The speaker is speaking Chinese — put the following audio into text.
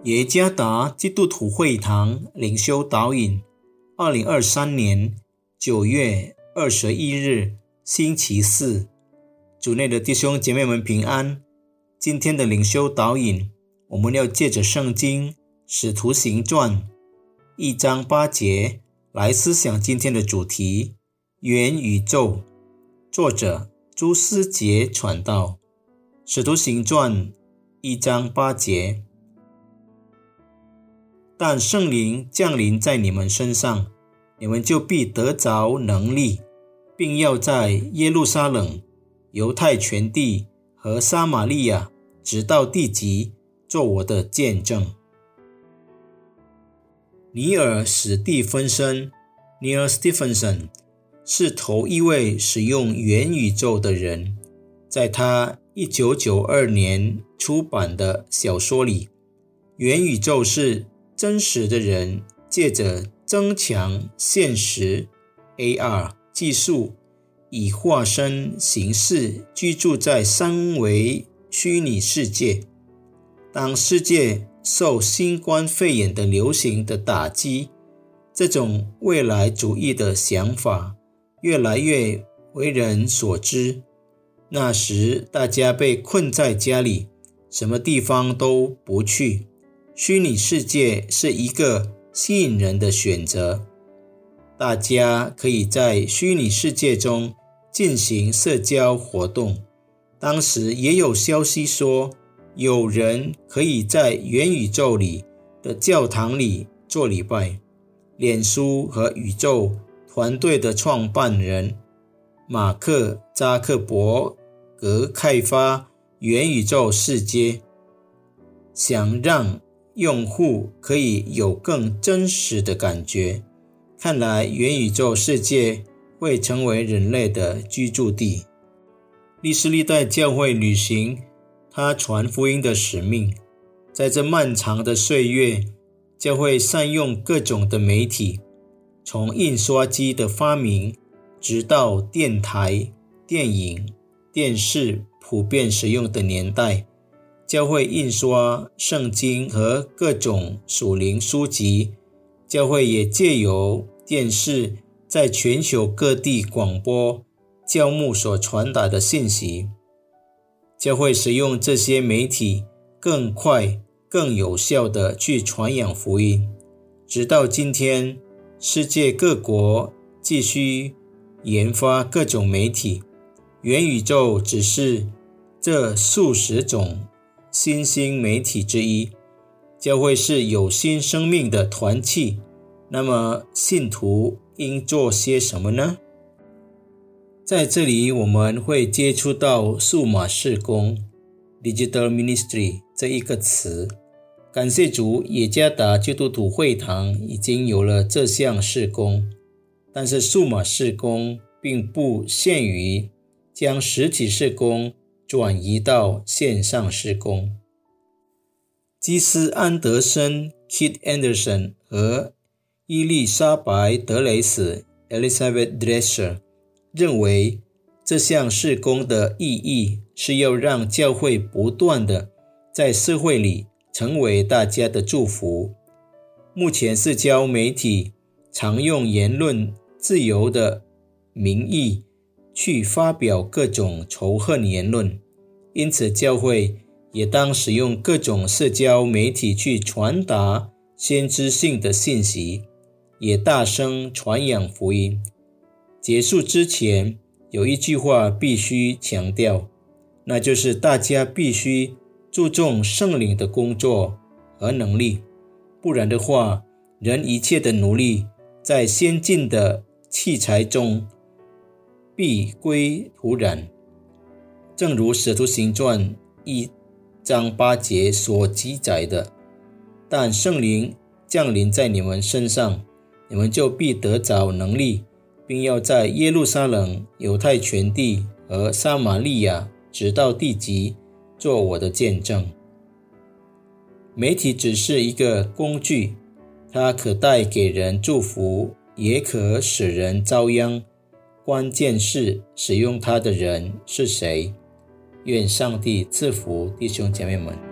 耶加达基督徒会堂灵修导引2023年9月21日星期四，主内的弟兄姐妹们平安。今天的灵修导引，我们要借着圣经使徒行传1章8节来思想今天的主题，元宇宙。作者朱思杰传道。使徒行传1章8节，但圣灵降临在你们身上，你们就必得着能力，并要在耶路撒冷、犹太全地和撒玛利亚直到地极做我的见证。尼尔·史蒂芬森 Neil Stephenson 是头一位使用元宇宙的人。在他1992年出版的小说里，元宇宙是真实的人借着增强现实 AR 技术，以化身形式居住在三维虚拟世界。当世界受新冠肺炎的流行的打击，这种未来主义的想法越来越为人所知。那时大家被困在家里，什么地方都不去，虚拟世界是一个吸引人的选择。大家可以在虚拟世界中进行社交活动。当时也有消息说，有人可以在元宇宙里的教堂里做礼拜。脸书和宇宙团队的创办人马克·扎克伯格开发元宇宙世界，想让用户可以有更真实的感觉。看来元宇宙世界会成为人类的居住地。历世历代教会履行他传福音的使命。在这漫长的岁月，教会善用各种的媒体，从印刷机的发明直到电台、电影、电视普遍使用的年代，教会印刷圣经和各种属灵书籍。教会也借由电视在全球各地广播教牧所传达的信息。教会使用这些媒体更快、更有效地去传扬福音。直到今天，世界各国继续研发各种媒体。元宇宙只是这数十种新兴媒体之一。教会是有新生命的团契，那么信徒应做些什么呢？在这里我们会接触到数码事工 Digital Ministry 这一个词。感谢主，耶加达基督徒会堂已经有了这项事工。但是数码事工并不限于将实体事工转移到线上事工。基斯·安德森 Kit Anderson 和伊丽莎白·德雷斯 Elizabeth Dresser 认为，这项事工的意义是要让教会不断的在社会里成为大家的祝福。目前社交媒体常用言论自由的名义去发表各种仇恨言论，因此教会也当使用各种社交媒体去传达先知性的信息，也大声传扬福音。结束之前，有一句话必须强调，那就是大家必须注重圣灵的工作和能力，不然的话，人一切的努力在先进的器材中必归徒然。正如使徒行传1章8节所记载的，但圣灵降临在你们身上，你们就必得着能力，并要在耶路撒冷、犹太全地和撒玛利亚直到地极做我的见证。媒体只是一个工具，它可带给人祝福，也可使人遭殃。关键是使用它的人是谁。愿上帝赐福弟兄姐妹们。